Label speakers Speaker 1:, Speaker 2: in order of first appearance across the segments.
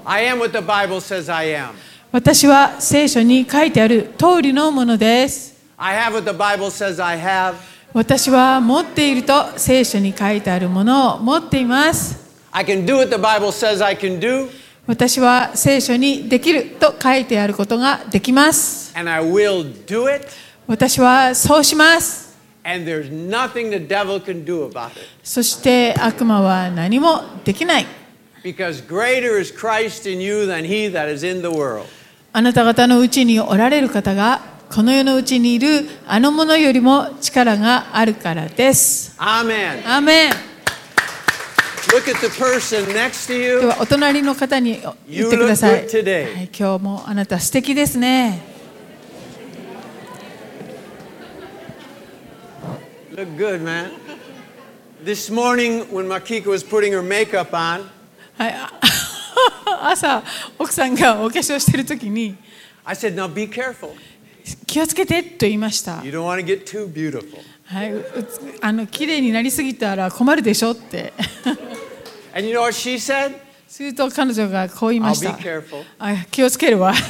Speaker 1: I am what the Bible says I am.
Speaker 2: 私は聖書に書いてある通りのものです。
Speaker 1: I have what the Bible says I have.
Speaker 2: 私は持っていると聖書に書いてあるものを持っています。
Speaker 1: I can do what the Bible says I can do.
Speaker 2: 私は聖書にできると書いてあることができます。
Speaker 1: And I will do it.
Speaker 2: 私はそうします。
Speaker 1: And there's nothing the devil can do about it.
Speaker 2: そして悪魔は何もできない。
Speaker 1: Because greater is Christ in you than he that is in the world.
Speaker 2: あなた方のうちにおられる方がこの世のうちにいるあのものよりも力があるからです。
Speaker 1: アーメン。
Speaker 2: アーメン。
Speaker 1: Look at the person next to you.
Speaker 2: ではお隣の方に言ってください。
Speaker 1: You look good today.
Speaker 2: はい、今日もあなた素敵ですね。
Speaker 1: Look good, man. This morning when Makiko was putting her makeup on,
Speaker 2: はい、朝奥さんがお化粧しているときに
Speaker 1: I said, "Now be careful.
Speaker 2: 気をつけてと言いました。
Speaker 1: You don't want to get too beautiful."
Speaker 2: はい、綺麗になりすぎたら困るでしょって。
Speaker 1: And you know what she said?
Speaker 2: すると彼女がこう言いました。
Speaker 1: I'll be careful.
Speaker 2: 気をつけるわ。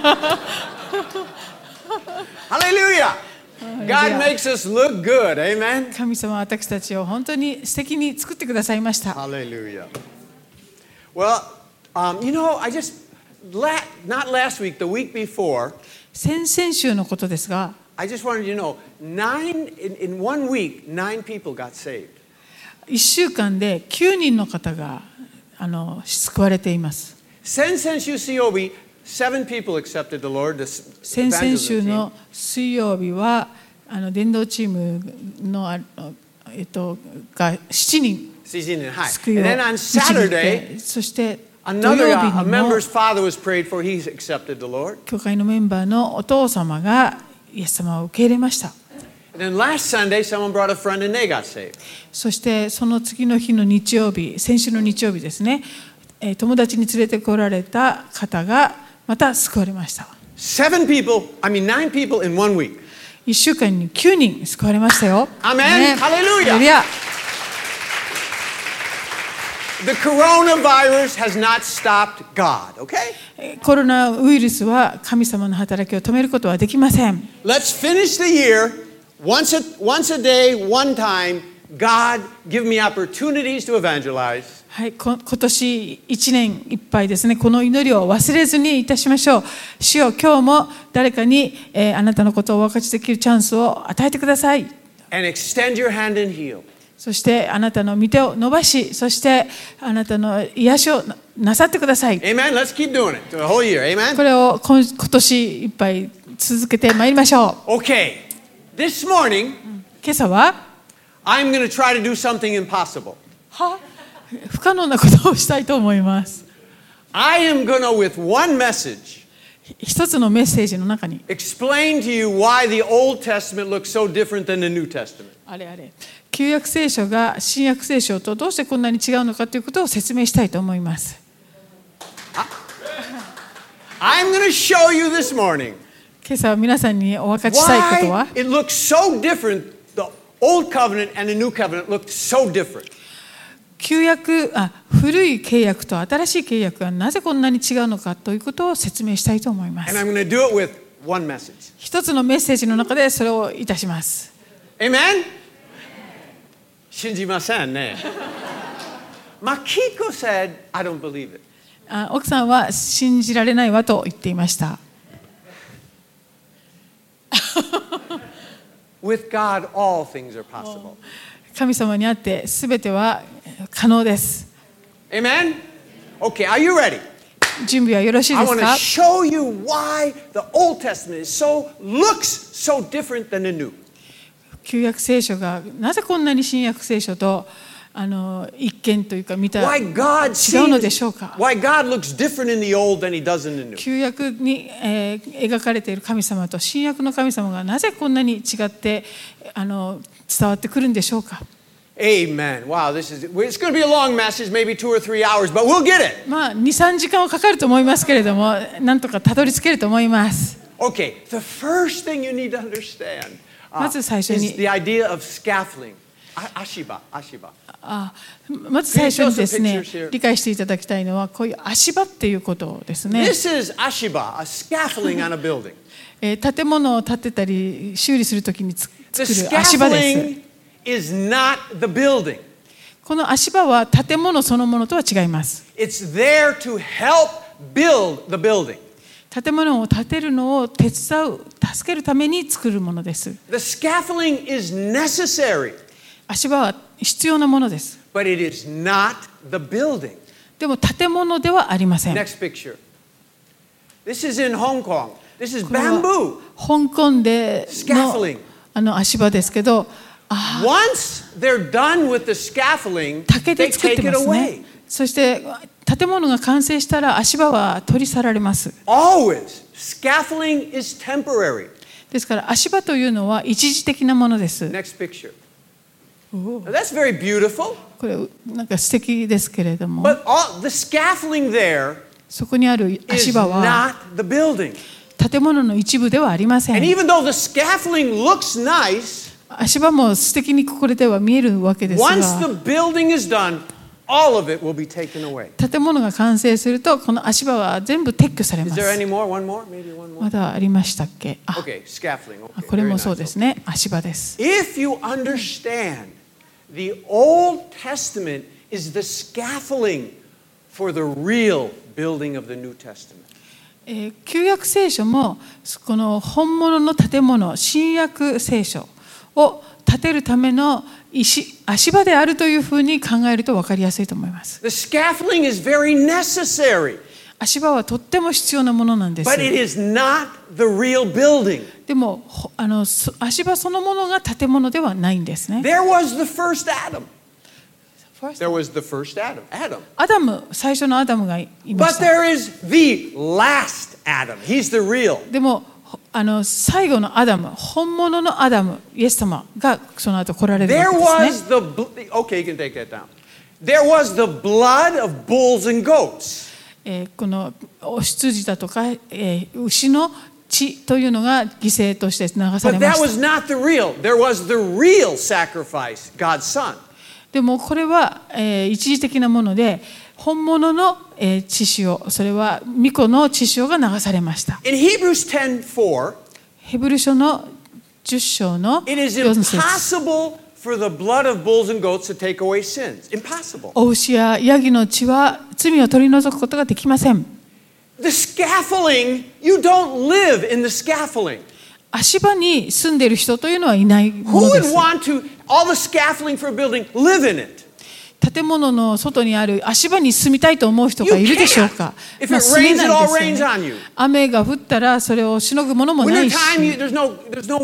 Speaker 1: Hallelujah! God makes us look good. Amen?
Speaker 2: 神様は私たちを本当に素敵に作ってくださいました。
Speaker 1: Hallelujah. Well, you know, I just, not last week, the week before,
Speaker 2: 先々週のことですが、
Speaker 1: I just wanted you to know, in 1 week, 9 people got saved.
Speaker 2: 1週間で9人の方が救われています。
Speaker 1: 先々週水曜日、7 people accepted the Lord.
Speaker 2: 先々週の水曜日は伝道チームのが7人救いを導いて、そして土曜日にも教会のメンバーのお父様がイエス様を受け入れました。そしてその次の日の日曜日、先週の日曜日ですね、友達に連れてこられた方がまた救われました。
Speaker 1: 9 people in 1 week.
Speaker 2: 1週間に9人救われましたよ。
Speaker 1: アメン。ハレルヤ。The coronavirus has not stopped God, okay?
Speaker 2: コロナウイルスは神様の働きを止めることはできません。
Speaker 1: Let's finish the year once a day, one time. God, give me opportunities to evangelize.
Speaker 2: はい、今年1年いっぱいですね、この祈りを忘れずにいたしましょう。主よ、今日も誰かに、あなたのことをお分かちできるチャンスを与えてください。
Speaker 1: And extend your hand and heal.
Speaker 2: そしてあなたの御手を伸ばし、そしてあなたの癒しをなさってください。
Speaker 1: Amen. Let's keep doing it the whole year. Amen.
Speaker 2: これを今年いっぱい続けてまいりましょう。
Speaker 1: Okay. This morning,
Speaker 2: 今朝は
Speaker 1: I'm going to try to do something impossible.
Speaker 2: 不可能なことをしたいと思います。
Speaker 1: I am going to, with one message,
Speaker 2: 一つのメッセージの中に
Speaker 1: explain to you why the Old Testament looks so different than the New Testament.
Speaker 2: 旧約聖書が新約聖書とどうしてこんなに違うのかということを説明したいと思います。
Speaker 1: I'm going to show you this morning
Speaker 2: 今朝皆さんにお分かちしたいことは
Speaker 1: why it looks so different. The Old Covenant and the New Covenant looked so different.
Speaker 2: 古い契約と新しい契約がなぜこんなに違うのかということを説明したいと思います。
Speaker 1: And I'm going to do it with one message.
Speaker 2: 一つのメッセージの中でそれをいたします。
Speaker 1: Amen? 信じませんね。Makiko said, I don't believe it.
Speaker 2: 奥さんは信じられないわと言っていました。
Speaker 1: With God, all things are possible.
Speaker 2: 神様にあってすべては可能です。
Speaker 1: Amen? Okay, are you ready?
Speaker 2: 準備はよろしいで
Speaker 1: I
Speaker 2: す
Speaker 1: want
Speaker 2: か
Speaker 1: to show you why the Old Testament looks so different than the New.
Speaker 2: 旧約聖書がなぜこんなに新約聖書と一見というか見た違うのでしょうか。
Speaker 1: Why God looks different in the Old than He does in the New.
Speaker 2: 旧約に、描かれている神様と新約の神様がなぜこんなに違って伝わってくるんでしょうか。
Speaker 1: Amen. Wow, it's going to be a long message, maybe 2 or 3 hours, but we'll get it.
Speaker 2: 2、3時間はかかると思いますけれども、なんとかたどり着けると思います。
Speaker 1: Okay, the first thing you need to understand
Speaker 2: まず最初
Speaker 1: is
Speaker 2: に
Speaker 1: the idea of scaffolding. Ashiba. Ashiba.
Speaker 2: まず最初にですね
Speaker 1: Can you show us a picture here?、
Speaker 2: 理解していただきたいのは、こういう足場っていうことですね。
Speaker 1: This is Ashiba, a scaffolding on a building.
Speaker 2: 建物を建てたり修理するときに作
Speaker 1: The
Speaker 2: る足場です。
Speaker 1: scaffolding is not the building.
Speaker 2: この足場は建物そのものとは違います。
Speaker 1: It's there to help build the building.
Speaker 2: 建物を建てるのを手伝う、助けるために作るものです。
Speaker 1: The scaffolding is necessary,
Speaker 2: 足場は必要なものです。
Speaker 1: but it is not the building.
Speaker 2: でも建物ではありません。
Speaker 1: Next picture. This is in Hong Kong. This is
Speaker 2: これは
Speaker 1: bamboo.
Speaker 2: 香港で
Speaker 1: Scaffolding.
Speaker 2: の足場ですけど、
Speaker 1: Once they're done with the scaffolding,
Speaker 2: 竹
Speaker 1: they
Speaker 2: で作っ
Speaker 1: take
Speaker 2: て
Speaker 1: it
Speaker 2: ますね
Speaker 1: away.。
Speaker 2: そして建物が完成したら足場は取り去られます。
Speaker 1: Always. Scaffolding is temporary.
Speaker 2: ですから足場というのは一時的なものです。
Speaker 1: Next picture. Now, that's very beautiful,
Speaker 2: これなんか素敵ですけれども、
Speaker 1: but the scaffolding there
Speaker 2: そこにある
Speaker 1: is
Speaker 2: 足場は
Speaker 1: not the building.
Speaker 2: 建物の一部ではありませ
Speaker 1: And
Speaker 2: ん。
Speaker 1: even though the scaffolding looks nice,
Speaker 2: 足場も素敵にこれでは見えるわけです
Speaker 1: once
Speaker 2: が、
Speaker 1: the building is done, all of it will be taken away.
Speaker 2: 建物が完成するとこの足場は全部撤去され
Speaker 1: Is
Speaker 2: ま
Speaker 1: there
Speaker 2: す。
Speaker 1: any more? One more? Maybe one more?
Speaker 2: まだありましたっけ？
Speaker 1: Okay, scaffolding. Okay,
Speaker 2: これ
Speaker 1: very
Speaker 2: も
Speaker 1: nice.
Speaker 2: そうですね。足場です。
Speaker 1: If you understand, the Old Testament is the scaffolding for the real building of the New Testament.
Speaker 2: 旧約聖書もこの本物の建物、新約聖書を建てるための足場であるというふうに考えると分かりやすいと思います。
Speaker 1: The scaffolding is very necessary,
Speaker 2: 足場はとっても必要なものなんです。
Speaker 1: but it is not the real building.
Speaker 2: でも足場そのものが建物ではないんですね。
Speaker 1: There was the first Adam. There was the first Adam.
Speaker 2: アダム、最初のアダムがいま
Speaker 1: But
Speaker 2: した。
Speaker 1: there is the last Adam. He's the real.
Speaker 2: でも最後のアダム、本物のアダム、イエス様がその後来られるわ
Speaker 1: There
Speaker 2: けですね。
Speaker 1: was the okay, you can take that down. There was the blood of bulls and goats.
Speaker 2: このお羊だとか、牛の血というのが犠牲として流され
Speaker 1: But
Speaker 2: ま
Speaker 1: that
Speaker 2: し
Speaker 1: was not the real. There was the real sacrifice, God's Son.
Speaker 2: た。でもこれは、一時的なもので、本物の、血潮、それは御子の血潮が流されました。
Speaker 1: In Hebrews 10:4,
Speaker 2: ヘブル書の10章の
Speaker 1: it is
Speaker 2: 4節。
Speaker 1: impossible for the blood of bulls and goats to take away sins. Impossible.
Speaker 2: お牛やヤギの血は罪を取り除くことができません。
Speaker 1: The scaffolding, you don't live in the scaffolding.
Speaker 2: 足場に住んでいる人というのはいないも
Speaker 1: Who
Speaker 2: ので
Speaker 1: would
Speaker 2: す。
Speaker 1: want to, all the scaffolding for a building, live in it?
Speaker 2: 建物の外にある足場に住みたいと思う人
Speaker 1: You
Speaker 2: がいるでしょうか。
Speaker 1: can't. If
Speaker 2: まあ
Speaker 1: it
Speaker 2: 住め
Speaker 1: rains,
Speaker 2: な
Speaker 1: it all
Speaker 2: いです
Speaker 1: rains
Speaker 2: よ
Speaker 1: on
Speaker 2: ね。
Speaker 1: you.
Speaker 2: 雨が降ったらそれをしのぐものもな
Speaker 1: Winter
Speaker 2: いし、
Speaker 1: time, there's no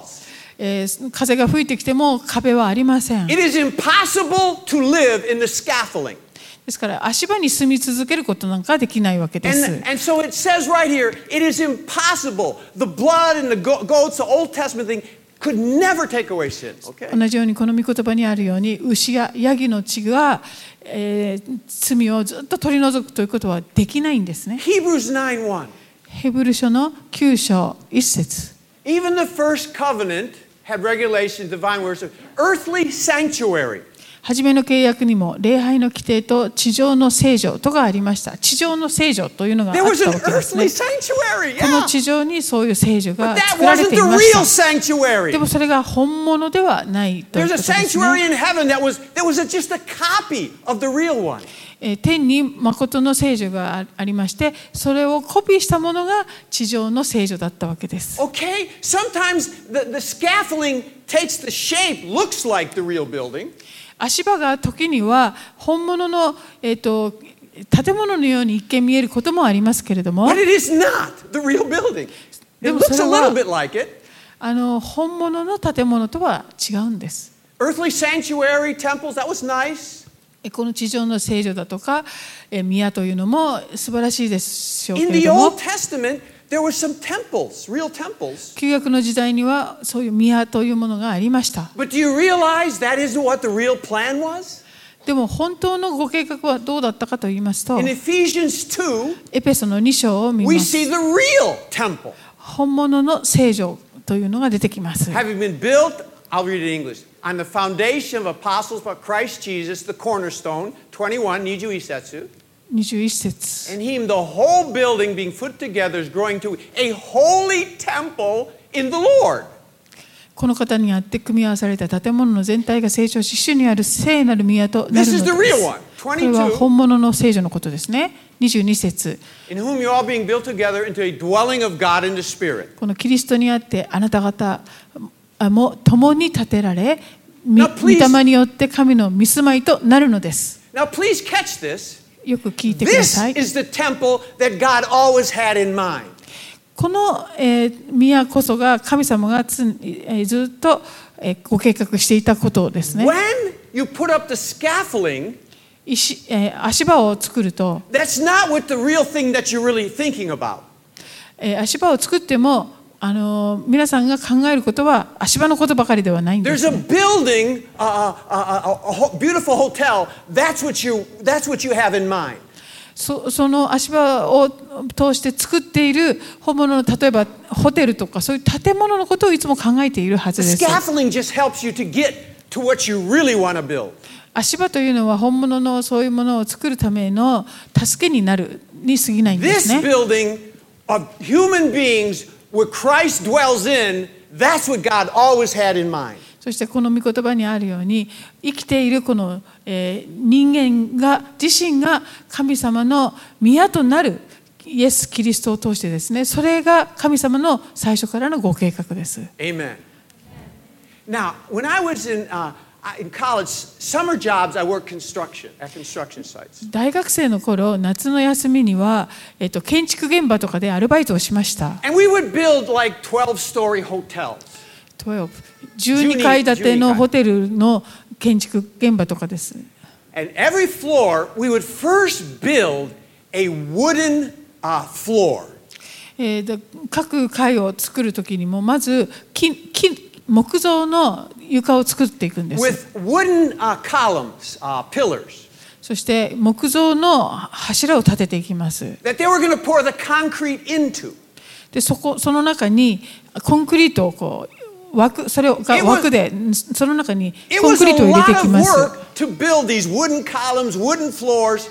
Speaker 1: walls.
Speaker 2: 風が吹いてきても壁はありません。
Speaker 1: It is impossible to live in the scaffolding.
Speaker 2: ですから足場に住み続けることなんかできないわけで
Speaker 1: And,
Speaker 2: す。
Speaker 1: and so it says right here, it is impossible. The blood and the goats, the Old Testament thing, could never take away sins. Okay?
Speaker 2: 同じようにこの御言葉にあるように牛やヤギの血が、罪をずっと取り除くということはできないんですね。
Speaker 1: Hebrews 9:1.
Speaker 2: ヘブル書の9章1節。
Speaker 1: Even the first covenant had regulations, divine words of earthly sanctuary.
Speaker 2: 初めの契約にも礼拝の規定と地上の聖女とがありました。地上の聖女というのがあっ
Speaker 1: There
Speaker 2: た
Speaker 1: was an
Speaker 2: わけですね。
Speaker 1: earthly sanctuary.
Speaker 2: この
Speaker 1: Yeah.
Speaker 2: 地上にそういう聖女
Speaker 1: But
Speaker 2: が
Speaker 1: that
Speaker 2: 作られ
Speaker 1: wasn't
Speaker 2: てい
Speaker 1: the
Speaker 2: ま
Speaker 1: real
Speaker 2: した。
Speaker 1: sanctuary.
Speaker 2: でもそれが本物ではないという
Speaker 1: There's
Speaker 2: こ
Speaker 1: a
Speaker 2: とですね。
Speaker 1: sanctuary in heaven that was just a copy of the real one.
Speaker 2: 天に誠の聖女がありまして、それをコピーしたものが地上の聖女だったわけです。
Speaker 1: Okay? Sometimes the scaffolding takes the shape, looks like the real building.
Speaker 2: 足場が時には本物の、建物のように一見見えることもありますけれども、
Speaker 1: But it is not the real building. It
Speaker 2: でも
Speaker 1: looks
Speaker 2: そ
Speaker 1: a
Speaker 2: れは
Speaker 1: little bit like it.
Speaker 2: 本物の建物とは違うんです。
Speaker 1: Earthly sanctuary, temples, that was nice.
Speaker 2: この地上の聖女だとか宮というのも素晴らしいでしょうけ
Speaker 1: In
Speaker 2: れ
Speaker 1: the
Speaker 2: ども、
Speaker 1: Old Testament, there were some temples, real temples.
Speaker 2: 旧約の時代にはそういう宮というものがありました。
Speaker 1: But do you realize that isn't what the real plan was?
Speaker 2: でも本当のご計画はどうだったかと言いますと、
Speaker 1: In Ephesians 2,
Speaker 2: エペソの2章を見
Speaker 1: we
Speaker 2: ます。
Speaker 1: see the real temple.
Speaker 2: 本物の聖女というのが出てきます。
Speaker 1: Having been built, I'll read it in English, on the foundation of apostles but Christ Jesus, the cornerstone, 21, 21節。
Speaker 2: 21節。
Speaker 1: And him, the whole building being put together is growing to a holy temple in the Lord.
Speaker 2: この方にあって組み合わされた建物の全体が成長し、主にある聖なる宮となるの
Speaker 1: This
Speaker 2: で
Speaker 1: is
Speaker 2: す。
Speaker 1: the real one.
Speaker 2: これは本物の聖女のことですね。22節。
Speaker 1: In whom you're all being built together into a dwelling of God in the Spirit.
Speaker 2: このキリストにあってあなた方も共に建てられ、御
Speaker 1: Now, please-
Speaker 2: 霊によって神の御住まいとなるのです。
Speaker 1: Now, please catch this.
Speaker 2: よく聞いてくだ
Speaker 1: This
Speaker 2: さい。
Speaker 1: is the temple that God always had in mind.
Speaker 2: この、宮こそが神様がずっと、ご計画していたことですね。
Speaker 1: When you put up the scaffolding,
Speaker 2: 足場を作ると、
Speaker 1: that's not what the real thing that you're really thinking about.
Speaker 2: 足場を作っても皆さんが考えることは足場のことばかりではないんで
Speaker 1: There's
Speaker 2: す、
Speaker 1: a building, a beautiful hotel. That's what you have in mind.
Speaker 2: その足場を通して作っている本物の例えばホテルとかそういう建物のことをいつも考えているはず
Speaker 1: The
Speaker 2: です。
Speaker 1: scaffolding just helps you to get to what you really want to build.
Speaker 2: 足場というのは本物のそういうものを作るための助けになるに過ぎないんです
Speaker 1: This
Speaker 2: ね。
Speaker 1: building of human beings where Christ dwells in, that's what God always had in mind.
Speaker 2: そしてこの御言葉にあるように生きているこの、人間が自身が神様の宮となるイエス・キリストを通してですね、それが神様の最初からのご計画です。
Speaker 1: Amen. Now, when I was in college, summer jobs, I worked at construction sites.
Speaker 2: 大学生の頃、夏の休みには、建築現場とかでアルバイトをしました。
Speaker 1: And we would build like 12-story hotels.
Speaker 2: 12階建てのホテルの建築現場とかです。
Speaker 1: And every floor, we would first build a wooden floor.
Speaker 2: 各階を作るときにもまず木造の床を作っていくんです。
Speaker 1: With wooden columns, pillars.
Speaker 2: そして木造の柱を立てていきます。
Speaker 1: That they were going to pour the concrete into.
Speaker 2: でその中にコンクリートをこうそれが枠でその中にコンクリートを入れていきます。
Speaker 1: It was a lot of work to build these wooden columns, wooden floors,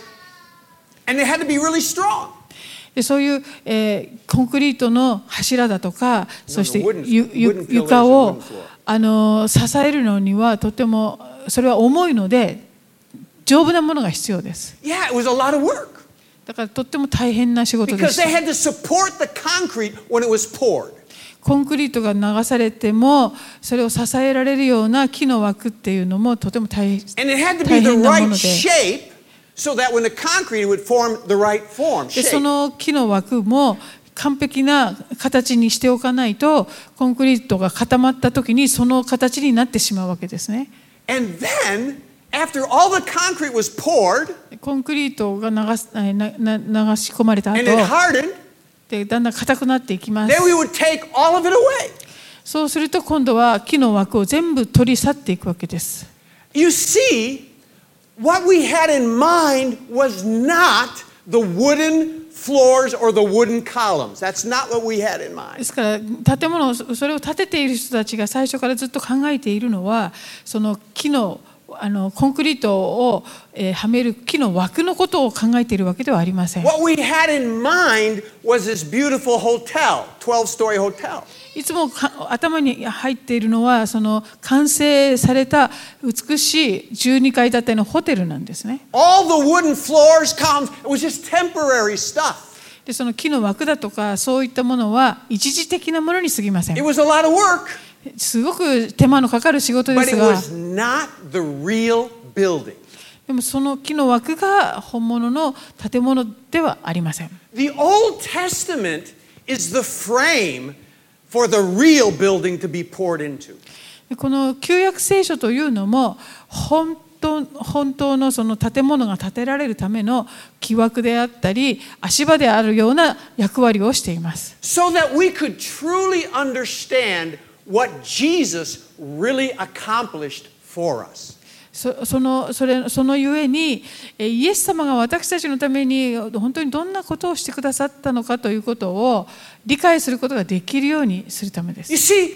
Speaker 1: and they had to be really strong.
Speaker 2: でそういう、コンクリートの柱だとか、そして床を支えるのにはとてもそれは重いので丈夫なものが必要です。
Speaker 1: Yeah, it was a lot of work.
Speaker 2: だからとっても大変な仕事で
Speaker 1: Because
Speaker 2: し
Speaker 1: they
Speaker 2: た。
Speaker 1: had to support the concrete when it was poured.
Speaker 2: コンクリートが流されてもそれを支えられるような木の枠っていうのもとても大
Speaker 1: And it had to be
Speaker 2: 大
Speaker 1: the
Speaker 2: 変なも
Speaker 1: right
Speaker 2: ので、
Speaker 1: shape so that when the concrete would form the right form.
Speaker 2: でそ
Speaker 1: Shape.
Speaker 2: の木の枠も完璧な形にしておかないとコンクリートが固まった時にその形になってしまうわけですね。
Speaker 1: And then, after all the concrete was poured
Speaker 2: コンクリートが流し込まれた後
Speaker 1: and it hardened,
Speaker 2: でだんだん硬くなっていきます。
Speaker 1: then we would take all of it away.
Speaker 2: そうすると今度は木の枠を全部取り去っていくわけです。
Speaker 1: You see, what we had in mind was not the wooden floors or the wooden columns. That's not what we had in
Speaker 2: で
Speaker 1: mind.
Speaker 2: すから建物をそれを建てている人たちが最初からずっと考えているのはその木のコンクリートを、はめる木の枠のことを考えているわけではありません。
Speaker 1: What we had in mind was this beautiful hotel, 12-story hotel.
Speaker 2: いつも頭に入っているのはその完成された美しい12階建てのホテルなんですね。
Speaker 1: All the wooden floors, columns, it was just temporary stuff.
Speaker 2: でその木の枠だとかそういったものは一時的なものに過ぎません。
Speaker 1: It was a lot of work,
Speaker 2: すごく手間のかかる仕事で
Speaker 1: but
Speaker 2: す
Speaker 1: it
Speaker 2: が、
Speaker 1: was not the real building.
Speaker 2: でもその木の枠が本物の建物ではありません。
Speaker 1: The Old Testament is the frame for the real building to be poured into.
Speaker 2: この旧約聖書というのも本当のその建物が建てられるための木枠であったり足場であるような役割をしています。
Speaker 1: So that we could truly understand what Jesus really accomplished for us.
Speaker 2: そのゆえにイエス様が私たちのために本当にどんなことをしてくださったのかということを理解することができるようにするためです。
Speaker 1: You see,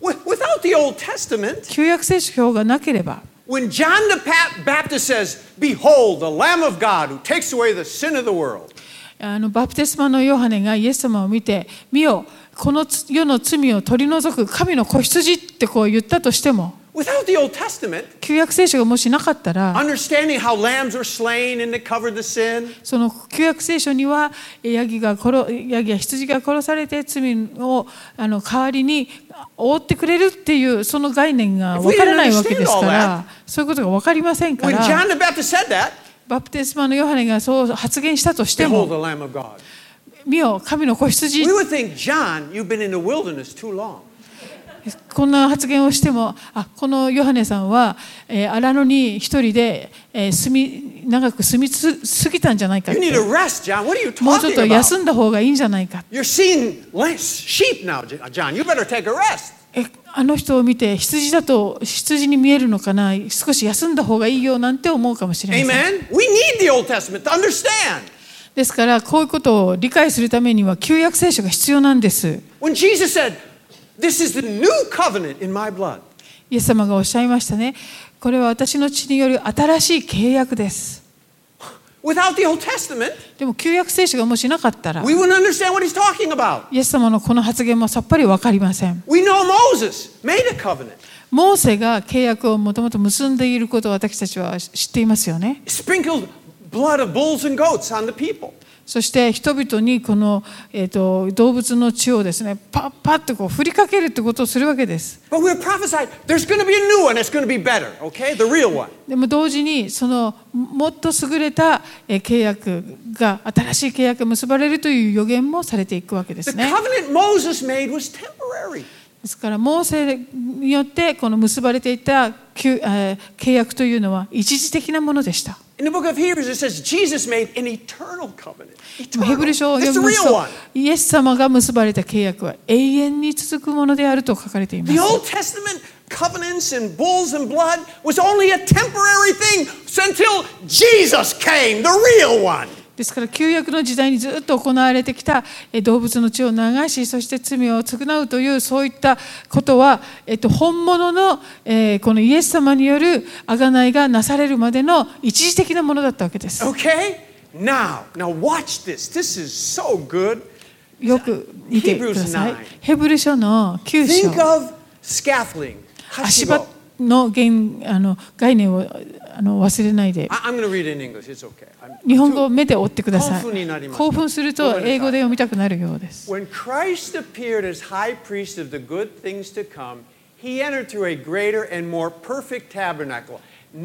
Speaker 1: Without the Old Testament,
Speaker 2: 旧約聖書がなければ、
Speaker 1: when John the Baptist says, "Behold, the Lamb of God who takes away the sin of the world,"
Speaker 2: バプテスマのヨハネがイエス様を見て、見よ、この世の罪を取り除く神の子羊ってこう言ったとしても、
Speaker 1: without the Old Testament,
Speaker 2: 旧約聖書がもしなかったら、
Speaker 1: understanding how lambs were slain and they covered the sin,
Speaker 2: その旧約聖書にはヤギや羊が殺されて罪を代わりに覆ってくれるっていうその概念が分からないわけですから、そういうことが分かりませんか
Speaker 1: when
Speaker 2: ら、
Speaker 1: John the Baptist said that,
Speaker 2: バプテスマのヨハネがそう発言したとして
Speaker 1: "Behold, the
Speaker 2: も、
Speaker 1: Lamb of God,"
Speaker 2: 見よ神の子羊、
Speaker 1: we would think, "John, you've been in the wilderness too long."
Speaker 2: こんな発言をしても、このヨハネさんは荒野に一人で長く住みすぎたんじゃないかっ
Speaker 1: You
Speaker 2: て、
Speaker 1: need a rest, John. What are you
Speaker 2: もうちょっ
Speaker 1: talking
Speaker 2: と
Speaker 1: about?
Speaker 2: 休んだ方がいいんじゃないか。
Speaker 1: You're seeing less sheep now, John. You better take a rest.
Speaker 2: あの人を見て羊だと羊に見えるのかな、少し休んだ方がいいよなんて思うかもしれません。
Speaker 1: Amen. We need the Old Testament to understand.
Speaker 2: ですからこういうことを理解するためには旧約聖書が必要なんです。
Speaker 1: When Jesus said, "This is the new covenant in my blood,"
Speaker 2: イエス様がおっしゃいましたね。これは私の血による新しい契約です。
Speaker 1: without the Old Testament,
Speaker 2: でも旧約聖書がもしなかったら、
Speaker 1: we wouldn't understand what he's talking about.
Speaker 2: イエス様のこの発言もさっぱり分かりません。
Speaker 1: We know Moses made a covenant,
Speaker 2: モーセが契約をもともと結んでいることを私たちは知っていますよね。
Speaker 1: sprinkled blood of bulls and goats on the people.
Speaker 2: そして人々にこの、動物の血をですね、パッパッとこう振りかけるってことをするわけです。
Speaker 1: But we're prophesied there's going to be a new one that's going to be better, okay? The real one.
Speaker 2: でも同時にそのもっと優れた契約が、新しい契約が結ばれるという予言もされていくわけで
Speaker 1: The
Speaker 2: すね。
Speaker 1: covenant Moses made was temporary.
Speaker 2: ですからモーセによってこの結ばれていた契約というのは一時的なものでした。
Speaker 1: In the book of Hebrews, it says Jesus made an eternal covenant.
Speaker 2: ヘブル書を
Speaker 1: It's
Speaker 2: 読
Speaker 1: the
Speaker 2: みます
Speaker 1: real
Speaker 2: と
Speaker 1: one.
Speaker 2: イエス様が結ばれた契約は永遠に続くものであると書かれていま
Speaker 1: The
Speaker 2: す。
Speaker 1: Old Testament covenants and bulls and blood was only a temporary thing until Jesus came, the real one.
Speaker 2: ですから旧約の時代にずっと行われてきた動物の血を流し、そして罪を償うというそういったことは、本物のこのイエス様による贖いがなされるまでの一時的なものだったわけです。
Speaker 1: Okay? Now watch this. This is so good.
Speaker 2: よく見てください
Speaker 1: Hebrews 9.
Speaker 2: ヘブル書の9
Speaker 1: Think
Speaker 2: 章
Speaker 1: of scaffolding.
Speaker 2: 足場の概念を忘れないで、
Speaker 1: I'm going to read it in English. It's okay.
Speaker 2: 日本語を目で追ってください。
Speaker 1: 興奮になります。
Speaker 2: 興奮すると英語で読みたくなるようです。
Speaker 1: When Christ appeared as high priest of the good things to come, he entered through a greater and more perfect tabernacle,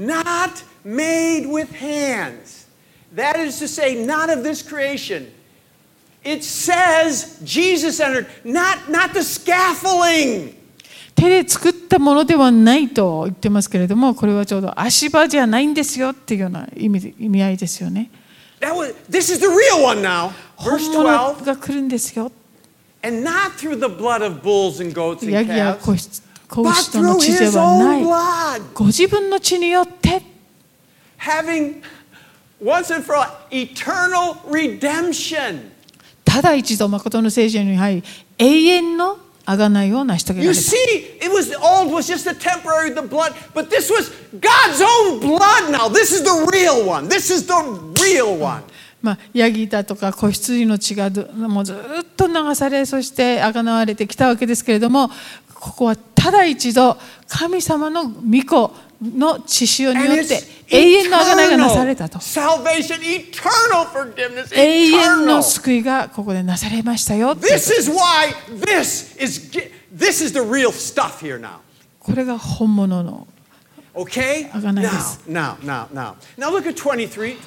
Speaker 1: not made with hands. That is to say, not of this creation. It says Jesus entered, not the scaffolding.
Speaker 2: 手で作ったものではないと言ってますけれども、これはちょうど足場じゃないんですよっていうような意味合いですよね。
Speaker 1: This is the real one now.
Speaker 2: 本
Speaker 1: Verse
Speaker 2: 物
Speaker 1: 12.
Speaker 2: が来るんですよ。
Speaker 1: And not through the blood of bulls and goats and
Speaker 2: ヤギや
Speaker 1: calves,
Speaker 2: 子
Speaker 1: but
Speaker 2: 牛との
Speaker 1: through
Speaker 2: 血で
Speaker 1: his
Speaker 2: はな
Speaker 1: own
Speaker 2: い。
Speaker 1: blood,
Speaker 2: ご自分の血によって、
Speaker 1: having once and for all eternal redemption.
Speaker 2: ただ一度誠の聖所に入り、永遠の贖いを成し遂げら
Speaker 1: You
Speaker 2: れた。
Speaker 1: see, the old was just a temporary, the blood, but this was God's own blood now. This is the real one. This is the real one.
Speaker 2: ヤギだとか子羊の血がもうずっと流され、そして贖われてきたわけですけれども、ここはただ一度神様の御子の血潮によ
Speaker 1: And
Speaker 2: って
Speaker 1: it's
Speaker 2: 永遠の贖いがなされたと。
Speaker 1: salvation, eternal forgiveness,
Speaker 2: 永遠の
Speaker 1: eternal.
Speaker 2: 救いがここでなされましたよ。
Speaker 1: This is why this is the real stuff here now.
Speaker 2: これが本物の
Speaker 1: Okay?
Speaker 2: 贖いです。
Speaker 1: Now look at 23.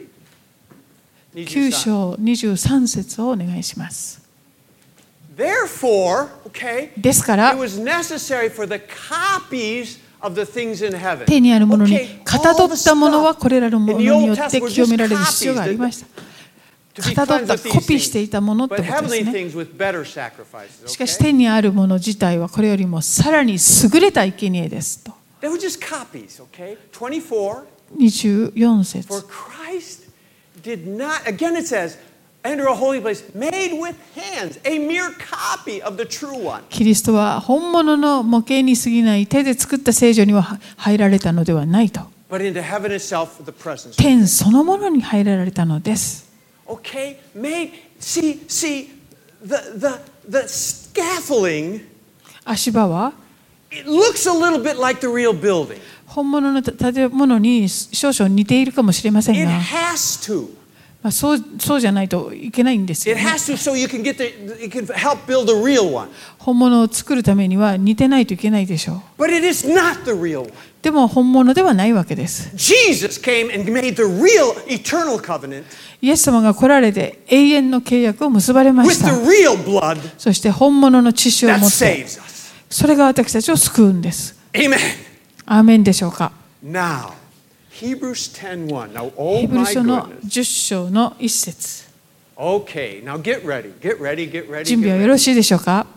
Speaker 2: 9章23節をお願いします。
Speaker 1: Therefore, okay,
Speaker 2: ですから
Speaker 1: it was necessary for the copies of the things in heaven.
Speaker 2: 手にあるものに
Speaker 1: Okay,
Speaker 2: かたど
Speaker 1: all
Speaker 2: っ
Speaker 1: the
Speaker 2: たものは
Speaker 1: stuff
Speaker 2: これらのもの
Speaker 1: in the
Speaker 2: によ
Speaker 1: Old
Speaker 2: って
Speaker 1: Testament were
Speaker 2: 清め
Speaker 1: just
Speaker 2: られる必要がありました。
Speaker 1: to be
Speaker 2: かたど
Speaker 1: cleansed
Speaker 2: った
Speaker 1: of
Speaker 2: コ
Speaker 1: these
Speaker 2: ピーしてい
Speaker 1: things.
Speaker 2: たものって
Speaker 1: But
Speaker 2: ことです
Speaker 1: heavenly
Speaker 2: ね。
Speaker 1: things with better sacrifices.
Speaker 2: しかし
Speaker 1: Okay?
Speaker 2: 天にあるもの自体はこれよりもさらに優れた生贄ですと。
Speaker 1: They were just copies, okay? 24.
Speaker 2: 24
Speaker 1: For
Speaker 2: 節。
Speaker 1: Christ did not, again it says, enter a holy place made with hands, a mere copy of the true one.
Speaker 2: キリストは本物の模型に過ぎない手で作った聖所には入られたのではないと。
Speaker 1: But into heaven itself, the presence.
Speaker 2: 天そのものに入られたのです。
Speaker 1: Okay, see, the scaffolding.
Speaker 2: 足場は
Speaker 1: It looks a little bit like the real building.
Speaker 2: 本物の建物に少々似ているかもしれません
Speaker 1: It
Speaker 2: が、
Speaker 1: has to.
Speaker 2: そうじゃないといけないんですよ
Speaker 1: It
Speaker 2: ね。
Speaker 1: has to, so you can help build the real one.
Speaker 2: 本物を作るためには似てないといけないでしょう。
Speaker 1: But it is not the real one.
Speaker 2: でも本物ではないわけです。
Speaker 1: Jesus came and made the real eternal covenant
Speaker 2: イエス様が来られて永遠の契約を結ばれま
Speaker 1: with
Speaker 2: した。
Speaker 1: the real blood
Speaker 2: そして本物の血潮を
Speaker 1: that
Speaker 2: 持って、
Speaker 1: saves us.
Speaker 2: それが私たちを救うんです。
Speaker 1: Amen.
Speaker 2: アーメンでしょうか。
Speaker 1: Now, Hebrews 10:1. Now, oh
Speaker 2: ヘブル
Speaker 1: my
Speaker 2: 書の
Speaker 1: goodness.
Speaker 2: 10章の1節。
Speaker 1: Okay, now get ready. Get ready, get ready.
Speaker 2: 準備
Speaker 1: Get
Speaker 2: はよ
Speaker 1: ready.
Speaker 2: ろしいでしょうか。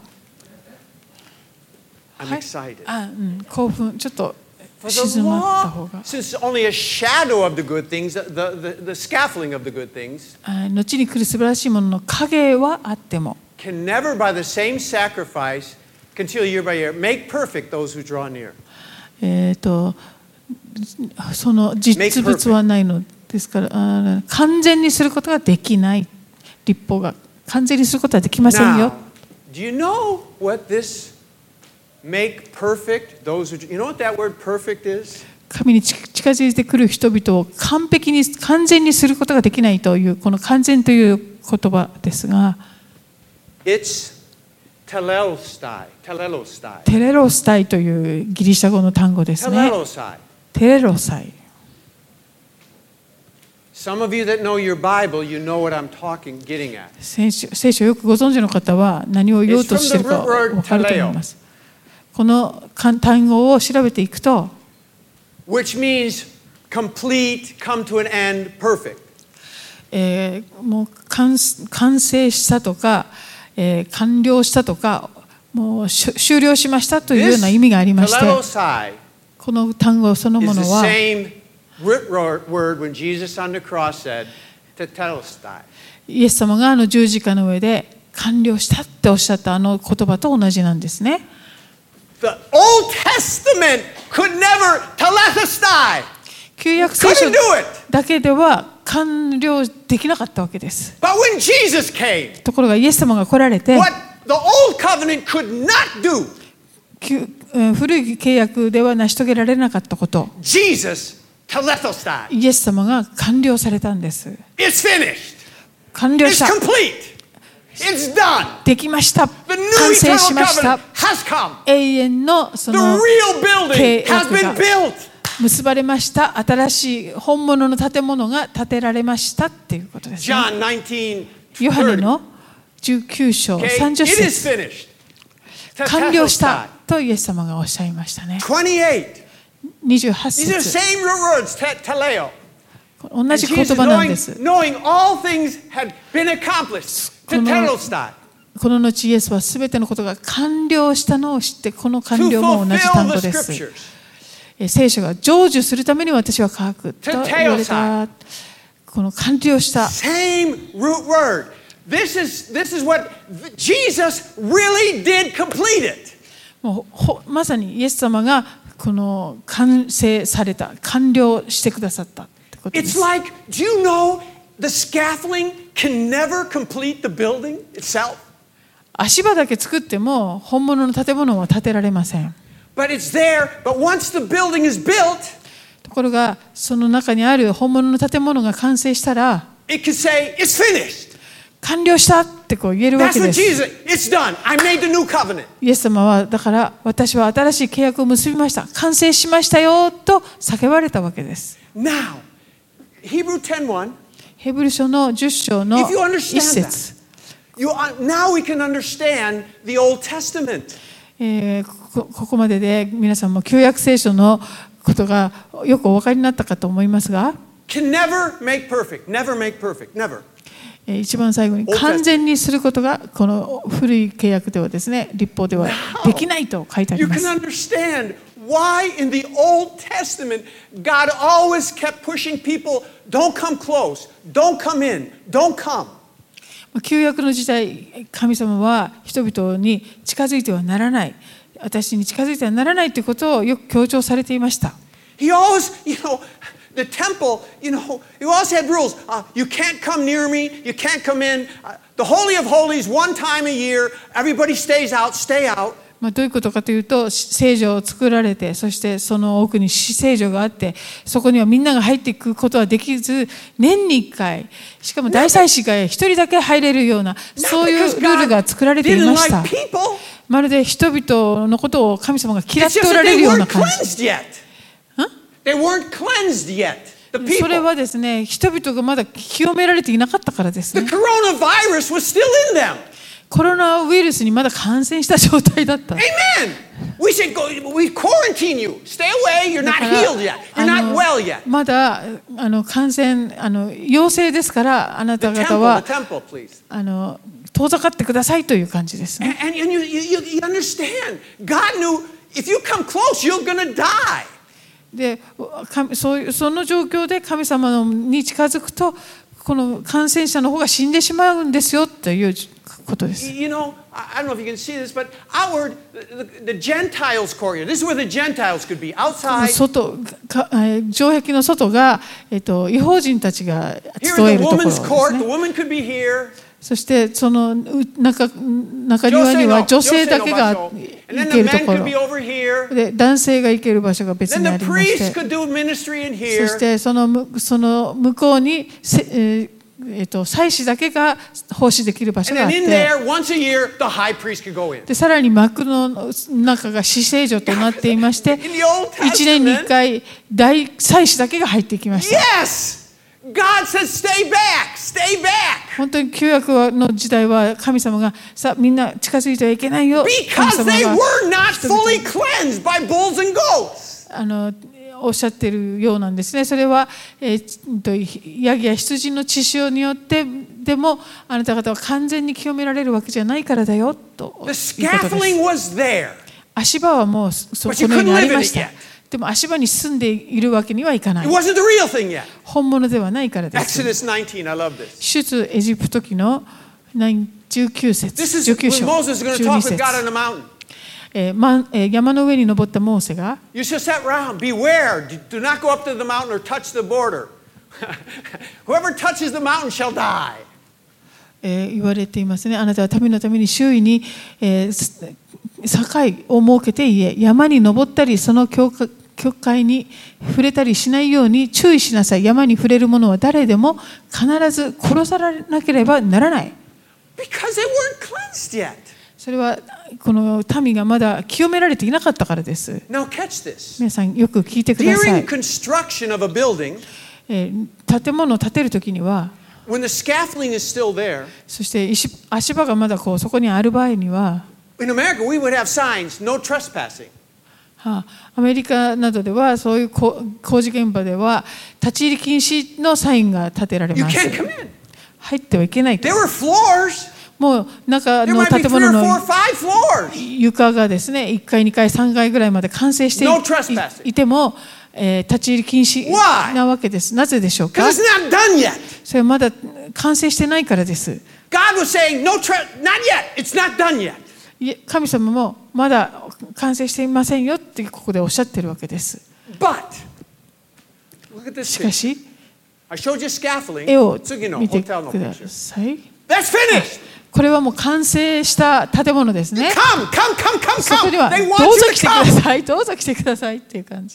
Speaker 1: I'm
Speaker 2: はい
Speaker 1: excited.
Speaker 2: 興奮、ちょっと
Speaker 1: For
Speaker 2: 静
Speaker 1: the
Speaker 2: まった方
Speaker 1: law,
Speaker 2: が。
Speaker 1: since only a shadow of the good things, the scaffolding of the good things,
Speaker 2: 後に来る素晴らしいものの影はあっても、
Speaker 1: can never by the same sacrifice, continue year by year, make perfect those who draw near.
Speaker 2: その実物はないのですから、完全にすることができない。立法が完全にすることはできませんよ。
Speaker 1: Now, do you know what this make perfect those who, you know what that word perfect is?
Speaker 2: 神に近づいてくる人々を完全にすることができないというこの完全という言葉ですが、
Speaker 1: It's telelostai. Telelostai.
Speaker 2: テレロスタイというギリシャ語の単語ですね。
Speaker 1: Telelostai.
Speaker 2: テレロサイ。
Speaker 1: Some of you that know your Bible, you know what I'm getting at.
Speaker 2: 聖書をよくご存知の方は何を言おうとしているか分かると思います。この単語を調べていくと、
Speaker 1: Which means complete, come to an end, perfect.
Speaker 2: もう完成したとか、完了したとか、もう終了しましたというような意味がありまして、
Speaker 1: Telelosai
Speaker 2: この単語そのも
Speaker 1: is
Speaker 2: の
Speaker 1: the
Speaker 2: は
Speaker 1: same root word when Jesus on the cross said, tetelestai.
Speaker 2: イエス様が十字架の上で完了したっておっしゃったあの言葉と同じなんですね。
Speaker 1: The Old Testament could never telestai.
Speaker 2: 旧約聖書
Speaker 1: Couldn't do it.
Speaker 2: だけでは完了できなかったわけです。
Speaker 1: But when Jesus came,
Speaker 2: ところがイエス様が来られて、
Speaker 1: what the Old Covenant could not do,
Speaker 2: 古い契約では成し遂げられなかったこと、
Speaker 1: Jesus telestai.
Speaker 2: イエス様が完了されたんです。
Speaker 1: It's finished.
Speaker 2: 完了
Speaker 1: It's
Speaker 2: した。
Speaker 1: complete. It's done.
Speaker 2: できました。
Speaker 1: The new
Speaker 2: 完成
Speaker 1: eternal
Speaker 2: しました。
Speaker 1: covenant has come.
Speaker 2: 永遠のそ
Speaker 1: The
Speaker 2: の
Speaker 1: real building
Speaker 2: 契
Speaker 1: has
Speaker 2: 約
Speaker 1: been
Speaker 2: が
Speaker 1: built.
Speaker 2: 結ばれました。新しい本物の建物が建てられましたっていうことですね。
Speaker 1: John 19.
Speaker 2: ヨハネの19章
Speaker 1: Okay,
Speaker 2: 30
Speaker 1: it is
Speaker 2: 節
Speaker 1: finished.
Speaker 2: 完了したとイエス様がおっしゃいましたね。
Speaker 1: 28.
Speaker 2: 28
Speaker 1: These are the
Speaker 2: 節
Speaker 1: same root words, teleo.
Speaker 2: 同
Speaker 1: And
Speaker 2: じ言
Speaker 1: Jesus,
Speaker 2: 葉なんです。
Speaker 1: knowing all things had been accomplished, tetelestai,
Speaker 2: この後イエスはすべてのことが完了したのを知って、この完
Speaker 1: to
Speaker 2: 了も同じ単語
Speaker 1: fulfill
Speaker 2: で
Speaker 1: the
Speaker 2: す。
Speaker 1: scriptures.
Speaker 2: 聖書が成就するために私は書くと言われた。この完了した。
Speaker 1: Same root word. This is what Jesus really did complete it.
Speaker 2: もうまさにイエス様がこの完成された、完了してくださったってことで
Speaker 1: It's
Speaker 2: す。
Speaker 1: like, do you know the scaffolding can never complete the building itself?
Speaker 2: 足場だけ作っても本物の建物は建てられません。
Speaker 1: But it's there, but once the building is built,
Speaker 2: ところがその中にある本物の建物が完成したら、
Speaker 1: it can say, it's finished.
Speaker 2: 完了したってこう言えるわ
Speaker 1: That's
Speaker 2: け
Speaker 1: what
Speaker 2: です。
Speaker 1: Jesus, it's done. I made the new covenant.
Speaker 2: イエス様はだから私は新しい契約を結びました、完成しましたよと叫ばれたわけです。
Speaker 1: Now, Hebrew 10:1,
Speaker 2: ヘブル書の10章の
Speaker 1: if you
Speaker 2: 1
Speaker 1: understand
Speaker 2: 節
Speaker 1: now we can understand the Old Testament.
Speaker 2: ここまでで皆さんも旧約聖書のことがよくお分かりになったかと思いますが、
Speaker 1: Can never make perfect, never make perfect, never.
Speaker 2: 一番最後に完全にすることがこの古い契約ではですね、立法ではできないと書いてあり
Speaker 1: You
Speaker 2: ま
Speaker 1: can
Speaker 2: す。
Speaker 1: understand why in the Old Testament God always kept pushing people, don't come close, don't come in, don't come.
Speaker 2: 旧約の時代、神様は人々に近づいてはならない、私に近づいてはならないということをよく強調されていました。
Speaker 1: He always, the temple, he always had rules. You can't come near me. You can't come in. The Holy of Holies, one time a year, everybody stays out, stay out.
Speaker 2: どういうことかというと、聖女を作られて、そしてその奥に至聖所があって、そこにはみんなが入っていくことはできず、年に1回、しかも大祭司が1人だけ入れるような、そういうルールが作られていました。まるで人々のことを神様が嫌っておられるような感じ。それはですね、人々がまだ清められていなかったからですね。コロナウイルスにまだ感染した状態だった。まだ感染陽性ですから、あなた方は遠ざかってくださいという感じですね。で、その状況で神様に近づくと、この感染者の方が死んでしまうんですよということです。
Speaker 1: I don't know if you can see this, but outward, the Gentiles' courtyard. This is where the Gentiles could be outside.
Speaker 2: 城壁の外が、異邦人たちが集えるところですね。
Speaker 1: The woman could be here.
Speaker 2: そしてその中庭には女性だけが行けるところで、男性が行ける場所が別にありまして、そしてその向こうに祭司だけが奉仕できる場所があって、でさらに幕の中が至聖所となっていまして、1年に1回大祭司だけが入ってきました。
Speaker 1: God says, stay back, stay back.
Speaker 2: 本当に旧約の時代は神様がさあみんな近づいてはいけないよ。
Speaker 1: Because they were not fully cleansed by bulls and goats.
Speaker 2: おっしゃっているようなんですね。それは、ヤギや羊の血潮によってでもあなた方は完全に清められるわけじゃないからだよということです。足場はもうそこのようにありました。でも足場に住んでいるわけにはいかない。本物ではないからです。出エジプト記の19節、19章、12節。山の上に登ったモーセが、言われていますね。あなたは民のために周囲に、境を設けて言え、山に登ったりその境界に触れたりしないように注意しなさい。山に触れる者は誰でも必ず殺されなければならない。それはこの民がまだ清められていなかったからです。皆さんよく聞いてください。建物を建てるときには、そして足場がまだそこにある場合には、アメリカなどではそういう工事現場では立ち入り禁止のサインが立てられます。入ってはいけないと。もう中の建物の床がですね、1階2階3階ぐらいまで完成していても、立ち入り禁止なわけです。なぜでしょうか？それはまだ完成してないからです。神様もまだ完成していませんよってここでおっしゃっているわけです。しかし、絵を見てください。これはもう完成した建物ですね。そこにはどうぞ来てください、どうぞ来てくださいっていう感じ。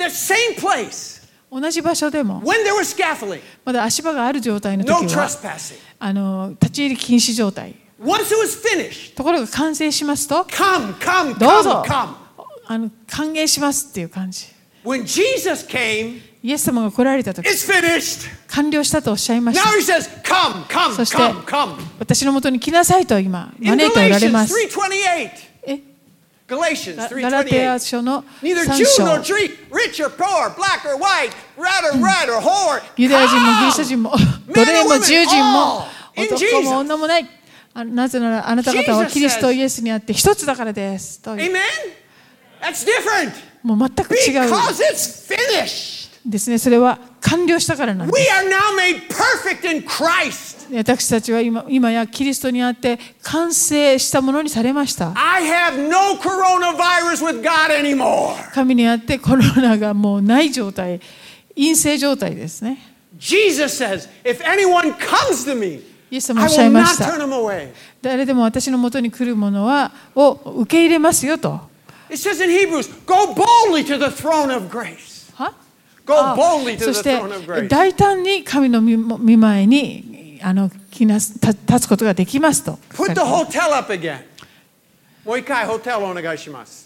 Speaker 2: 同じ場所でも、まだ足場がある状態の時は、立ち入り禁止状態。ところが完成しますと、どうぞ歓迎しますっていう感じ。イエス様が来られた時、完了したとおっしゃいました。そして私のもとに来なさいと今招いておられます。ガラテヤ書の3章、ユダヤ人もギリシャ人も奴隷も自由人も男も女もない、なぜならあなた方はキリストイエスにあって一つだからですと。もう全く違うですね。それは完了したからなんです。 私たちは今やキリストにあって完成したものにされました。
Speaker 1: I have no coronavirus with God anymore.
Speaker 2: 神にあってコロナがもうない状態、陰性状態ですね。
Speaker 1: Jesus says, if anyone comes to me,
Speaker 2: イエス様お
Speaker 1: I
Speaker 2: っしゃい
Speaker 1: will
Speaker 2: ま
Speaker 1: not
Speaker 2: した。
Speaker 1: turn him away.
Speaker 2: 誰でも私のもとに来るものを受け入れますよと。
Speaker 1: It says in Hebrews, go boldly to the throne of grace.
Speaker 2: は
Speaker 1: Go boldly to
Speaker 2: そ
Speaker 1: the
Speaker 2: して
Speaker 1: throne of grace.
Speaker 2: 大胆に神の御前に立つことができますと。
Speaker 1: Put the hotel up again. もう一回ホテルお願いします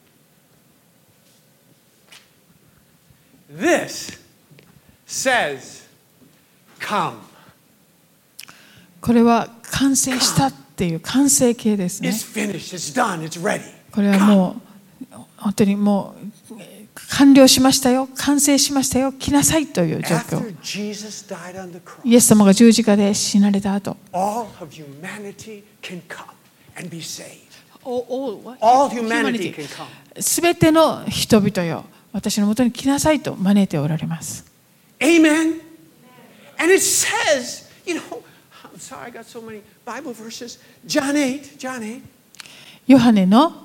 Speaker 1: 。This says, come.
Speaker 2: これは完成したっていう完成形ですね。
Speaker 1: It's finished. It's done. It's ready.
Speaker 2: これはもう本当にもう完了しましたよ、完成しましたよ、来なさいという状況。
Speaker 1: After Jesus died on the cross,
Speaker 2: イエス様が十字架で死なれた後、
Speaker 1: all of humanity can come and be saved.
Speaker 2: all
Speaker 1: humanity can come.
Speaker 2: すべての人々よ、私のもとに来なさいと招いておられます。
Speaker 1: Amen. And it says, you know, I'm sorry, I got so many Bible verses. John 8.
Speaker 2: ヨハネの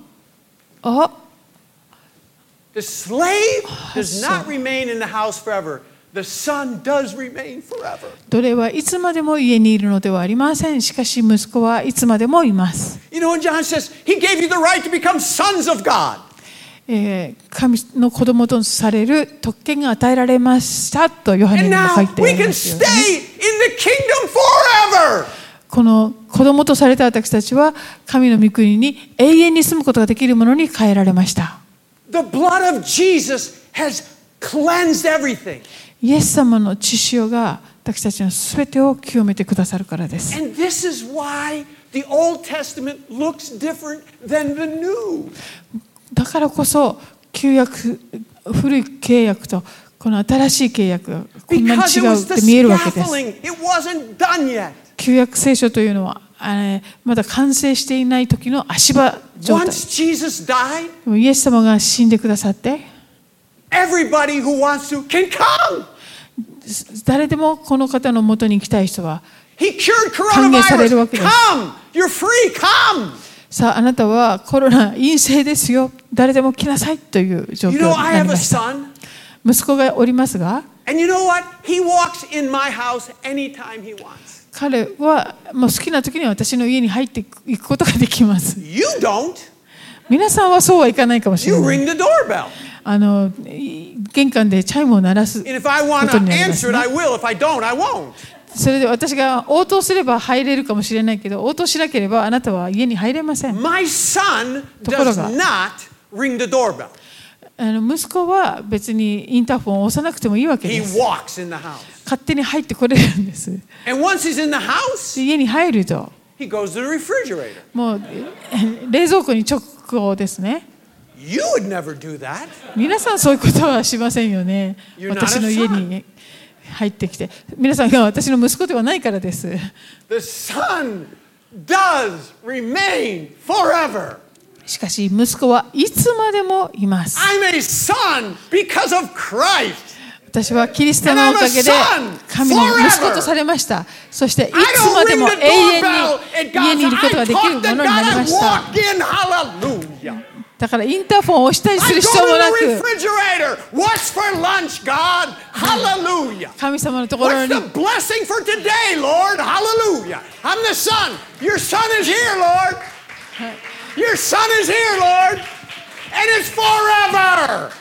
Speaker 1: The slave does not remain in the house forever. The son does remain forever.
Speaker 2: 奴隷はいつまでも家にいるのではありません。しかし息子はいつまでもいます。
Speaker 1: You know, when John says, he gave you the right to become sons of God.
Speaker 2: 神の子供とされる特権が与えられましたとヨハネ
Speaker 1: And
Speaker 2: にも
Speaker 1: now
Speaker 2: 書いてあ
Speaker 1: we
Speaker 2: り
Speaker 1: can
Speaker 2: ますよ
Speaker 1: stay
Speaker 2: ね。
Speaker 1: in the kingdom forever.
Speaker 2: この子供とされた私たちは神の御国に永遠に住むことができるものに変えられました。
Speaker 1: The blood of Jesus has cleansed everything.
Speaker 2: イエス様の血潮が私たちのすべてを清めてくださるからです。
Speaker 1: And this is why the Old Testament looks different than the New.
Speaker 2: だからこそ旧約、古い契約とこの新しい契約がこんなに
Speaker 1: Because
Speaker 2: 違
Speaker 1: it
Speaker 2: う
Speaker 1: was
Speaker 2: っ
Speaker 1: the
Speaker 2: て見えるわけです。
Speaker 1: scaffolding. It wasn't done yet.
Speaker 2: 旧約聖書というのはまだ完成していない時の足場状態。
Speaker 1: Once Jesus died,
Speaker 2: でもイエス様が死んでくださって、
Speaker 1: everybody who wants to can come.
Speaker 2: 誰でもこの方の元に行きたい人は、
Speaker 1: He cured
Speaker 2: 歓迎されるわ
Speaker 1: coronavirus.
Speaker 2: けです。
Speaker 1: Come. You're free. Come.
Speaker 2: さああなたはコロナ陰性ですよ、誰でも来なさいという状況
Speaker 1: You
Speaker 2: に
Speaker 1: know, I
Speaker 2: なり
Speaker 1: have a
Speaker 2: ました。
Speaker 1: son.
Speaker 2: 息子がおりますが、
Speaker 1: And you know what? He walks in my house anytime he wants.
Speaker 2: 彼はもう好きな時に私の家に入っていくことができます。
Speaker 1: You don't.
Speaker 2: 皆さんはそうはいかないかもし
Speaker 1: You
Speaker 2: れない。
Speaker 1: ring the doorbell.
Speaker 2: 玄関でチャイムを鳴らす
Speaker 1: And if I want
Speaker 2: こと
Speaker 1: to
Speaker 2: になります
Speaker 1: answer it,
Speaker 2: ね。
Speaker 1: I will. If I don't, I won't.
Speaker 2: それで私が応答すれば入れるかもしれないけど、応答しなければあなたは家に入れません。
Speaker 1: My son
Speaker 2: ところ
Speaker 1: does
Speaker 2: が
Speaker 1: not ring the doorbell.
Speaker 2: 息子は別にインターホンを押さなくてもいいわけ
Speaker 1: He
Speaker 2: です。
Speaker 1: walks in the house.
Speaker 2: 勝手に入ってこれるんです。
Speaker 1: And once he's in the house,
Speaker 2: で家に入ると
Speaker 1: he goes to the refrigerator.
Speaker 2: もう冷蔵庫に直行ですね。
Speaker 1: You would never do that.
Speaker 2: 皆さんそういうことはしませんよね。
Speaker 1: You're not a
Speaker 2: 私の家に入ってきて、皆さんが私の息子ではないからです。
Speaker 1: The son does remain forever.
Speaker 2: しかし息子はいつまでもいます。
Speaker 1: I'm a son because of Christ.
Speaker 2: 私はキリストのおかげで神の息子とされました。そしていつ
Speaker 1: I
Speaker 2: ま
Speaker 1: don't
Speaker 2: で
Speaker 1: ring
Speaker 2: も
Speaker 1: the
Speaker 2: 永遠
Speaker 1: doorbell
Speaker 2: に
Speaker 1: at
Speaker 2: 家にい
Speaker 1: God's
Speaker 2: ることが
Speaker 1: I
Speaker 2: できる
Speaker 1: talk
Speaker 2: も
Speaker 1: to
Speaker 2: の
Speaker 1: God.
Speaker 2: になり
Speaker 1: I
Speaker 2: ました。
Speaker 1: walk in. Hallelujah.
Speaker 2: だからインターフォンを押したりす
Speaker 1: I
Speaker 2: る
Speaker 1: go
Speaker 2: 必要もな
Speaker 1: to
Speaker 2: く、
Speaker 1: the refrigerator. What's for lunch, God? Hallelujah.
Speaker 2: 神様のところ
Speaker 1: What's
Speaker 2: に
Speaker 1: the blessing for today, Lord? Hallelujah. I'm the son. Your son is here, Lord. Your son is here, Lord. And it's forever.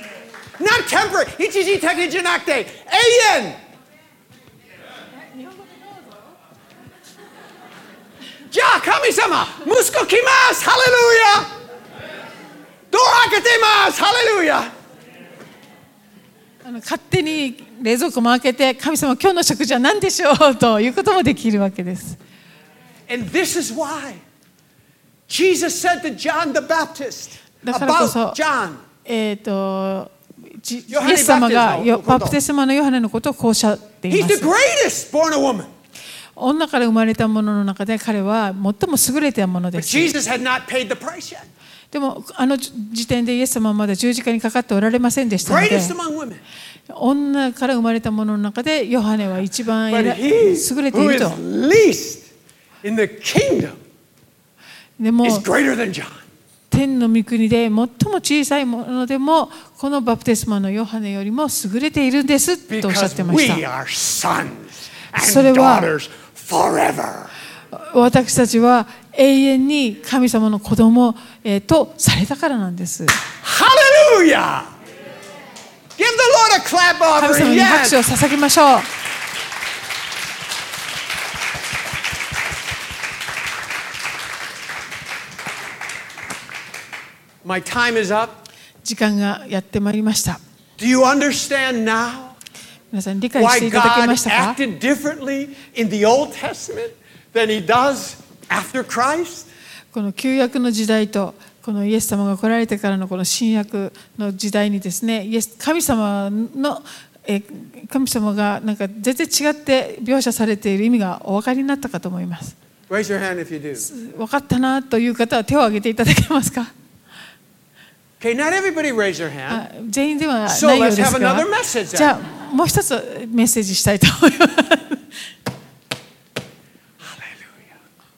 Speaker 1: Not temporary. 一時的じゃなくて永遠。じゃあ神様、息子来ます。ハレルヤ。ドア開けてます。ハレルヤ。
Speaker 2: 勝手に冷蔵庫も開けて、神様今日の食事は何でしょうということもできるわけです。
Speaker 1: And this is why Jesus said to John the Baptist
Speaker 2: だからこそ
Speaker 1: about John.
Speaker 2: イエス様がバプテスマのヨハネのことをこうおっしゃっていま
Speaker 1: He's the
Speaker 2: す。
Speaker 1: greatest born a woman.
Speaker 2: 女から生まれたものの中で彼は最も優れたもので
Speaker 1: But
Speaker 2: す。
Speaker 1: Jesus had not paid the price yet.
Speaker 2: でもあの時点でイエス様はまだ十字架にかかっておられませんでしたので、
Speaker 1: Greatest among women.
Speaker 2: 女から生まれたものの中でヨハネは一番
Speaker 1: But
Speaker 2: 優
Speaker 1: he
Speaker 2: れてい
Speaker 1: who
Speaker 2: る
Speaker 1: is
Speaker 2: と。
Speaker 1: least in the kingdom
Speaker 2: でも
Speaker 1: is greater than John.
Speaker 2: 天の御国で最も小さいものでもこのバプテスマのヨハネよりも優れているんですとおっしゃっ
Speaker 1: Because
Speaker 2: てまし
Speaker 1: we
Speaker 2: た。
Speaker 1: are sons
Speaker 2: それ
Speaker 1: and
Speaker 2: は
Speaker 1: daughters forever.
Speaker 2: 私たちは永遠に神様の子供とされたからなんです。
Speaker 1: Hallelujah! Give the Lord a clap
Speaker 2: 神
Speaker 1: offering.
Speaker 2: 様に拍手を
Speaker 1: Yes.
Speaker 2: 捧げましょう。
Speaker 1: My time is up.
Speaker 2: 時間がやってまいりました。
Speaker 1: Do you understand now
Speaker 2: 皆さん理解して
Speaker 1: why
Speaker 2: いただけ
Speaker 1: God
Speaker 2: ましたか？
Speaker 1: acted differently in the Old Testament than he does after Christ?
Speaker 2: この旧約の時代とこのイエス様が来られてからのこの新約の時代にですね、神様がなんか全然違って描写されている意味がお分かりになったかと思います。
Speaker 1: Raise your hand if you do.
Speaker 2: 分かったなという方は手を挙げていただけますか？
Speaker 1: Okay, not everybody raise your hand.
Speaker 2: 全員では
Speaker 1: So
Speaker 2: ないよう
Speaker 1: let's
Speaker 2: で
Speaker 1: have
Speaker 2: すが、
Speaker 1: another message
Speaker 2: じゃ
Speaker 1: then.
Speaker 2: あもう一つメッセージしたいと思います。
Speaker 1: Hallelujah.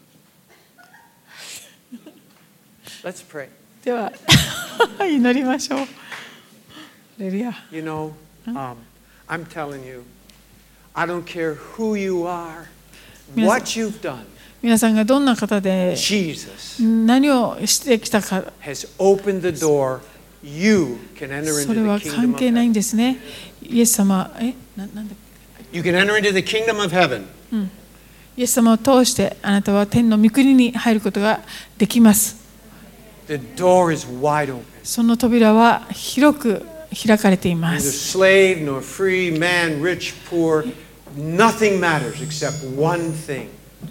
Speaker 1: Let's pray.
Speaker 2: では祈りましょう。ハレルヤ。
Speaker 1: You know, I'm telling you, I don't care who you are, what you've done.
Speaker 2: 皆さんがどんな方で
Speaker 1: Jesus
Speaker 2: 何をしてきたか、
Speaker 1: has opened the door. You can enter
Speaker 2: そ
Speaker 1: into
Speaker 2: れは
Speaker 1: the
Speaker 2: 関
Speaker 1: kingdom
Speaker 2: 係
Speaker 1: of
Speaker 2: ない
Speaker 1: heaven.
Speaker 2: んですね。イエス様、なんだっけ、
Speaker 1: You can enter into the kingdom of heaven.
Speaker 2: イエス様を通してあなたは天の御国に入ることができます。
Speaker 1: The door is wide open.
Speaker 2: その扉は広く開かれていま
Speaker 1: Neither
Speaker 2: す。
Speaker 1: slave nor free, man, rich, poor, nothing matters except one thing.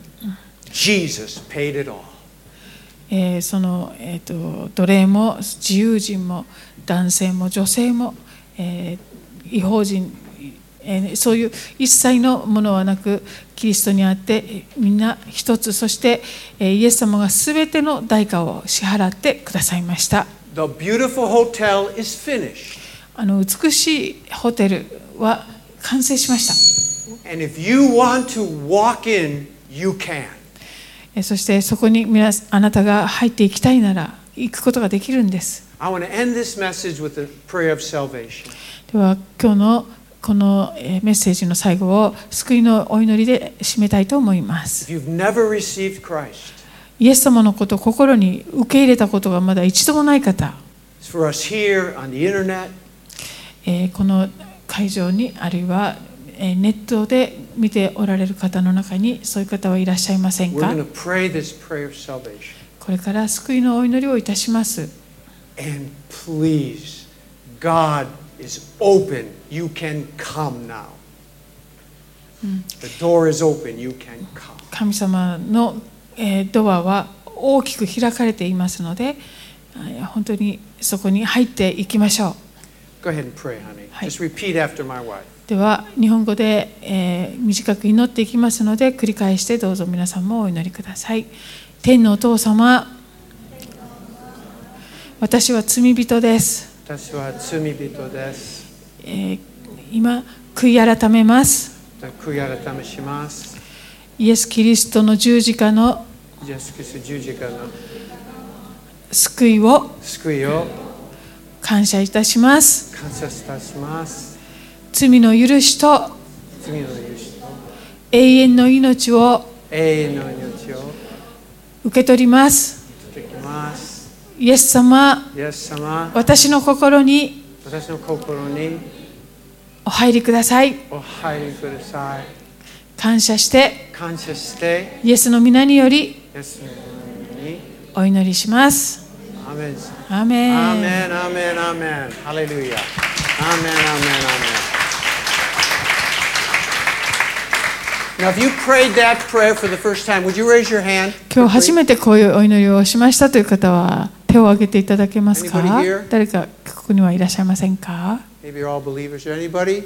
Speaker 1: Jesus paid it all.
Speaker 2: その、奴隷も自由人も男性も女性も、違法人、そういう一切のものはなくキリストにあってみんな一つ、そしてイエス様がすべての代価を支払ってくださいました。
Speaker 1: The beautiful hotel is finished.
Speaker 2: 美しいホテルは完成しました。
Speaker 1: And if you want to walk in, you can.
Speaker 2: そしてそこにあなたが入っていきたいなら行くことができるんです。
Speaker 1: I want to end this message with a prayer of salvation.
Speaker 2: では今日のこのメッセージの最後を救いのお祈りで締めたいと思います。
Speaker 1: If you've never received Christ,
Speaker 2: イエス様のことを心に受け入れたことがまだ一度もない方、
Speaker 1: it's for us here on the internet,
Speaker 2: この会場にあるいはネットで見ておられる方の中にそういう方はいらっしゃいません
Speaker 1: we're
Speaker 2: か？
Speaker 1: going to pray this prayer of salvation.
Speaker 2: これから救いのお祈りをいたします。
Speaker 1: And please, God is open. You can come now. The door is open. You can come.
Speaker 2: 神様のドアは大きく開かれていますので、本当にそこに入っていきましょう。
Speaker 1: Go ahead and pray, honey.
Speaker 2: はい。
Speaker 1: Just repeat after my wife.
Speaker 2: では日本語で、短く祈っていきますので繰り返してどうぞ皆さんもお祈りください。天のお父様、私は罪人です。
Speaker 1: 私は罪人です。
Speaker 2: 今悔い改めます。
Speaker 1: 悔い改めします。
Speaker 2: イエス・キリストの十字架の
Speaker 1: イエス・キリスト十字架の
Speaker 2: 救いを
Speaker 1: 救いを
Speaker 2: 感謝いたします。
Speaker 1: 感謝いたします。
Speaker 2: 罪の許しと
Speaker 1: 罪の許しと
Speaker 2: 永遠の命を
Speaker 1: 永遠の命を
Speaker 2: 受け取ります。
Speaker 1: いただきます。
Speaker 2: イエス様、
Speaker 1: イエス様、
Speaker 2: 私の心に
Speaker 1: 私の心に
Speaker 2: お入りください。
Speaker 1: お入りください。
Speaker 2: 感謝して
Speaker 1: 感謝して
Speaker 2: イエスの皆により
Speaker 1: イエスの名に
Speaker 2: お祈りします。
Speaker 1: アーメン。
Speaker 2: アーメン。
Speaker 1: アーメン、アーメン、アーメン。ハレルヤ。アーメン、アーメン、アーメン。Now, if you prayed that prayer for the first time, would you raise your hand?
Speaker 2: 今日初めてこういうお祈りをしましたという方は手を挙げていただけますか？
Speaker 1: Anybody here?
Speaker 2: 誰かここにはいらっしゃいませんか？
Speaker 1: Maybe you're all believers. Anybody?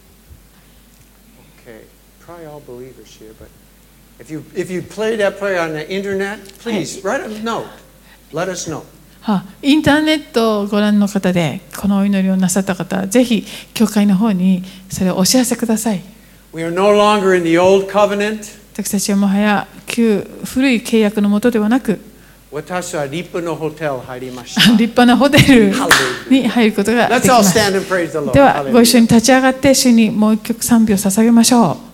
Speaker 1: Okay, probably all believers here. But if you played that prayer on the internet, please write a note. Let us know.
Speaker 2: インターネットをご覧の方でこのお祈りをなさった方はぜひ教会の方にそれをお知らせください。
Speaker 1: We are no longer in the old covenant.
Speaker 2: 私たちはもはや古い契約のもとではなく
Speaker 1: 私は立派なホテル入りました。
Speaker 2: 立派なホテルに入ることができます。ではご一緒に立ち上がって主にもう一曲賛美を捧げましょう。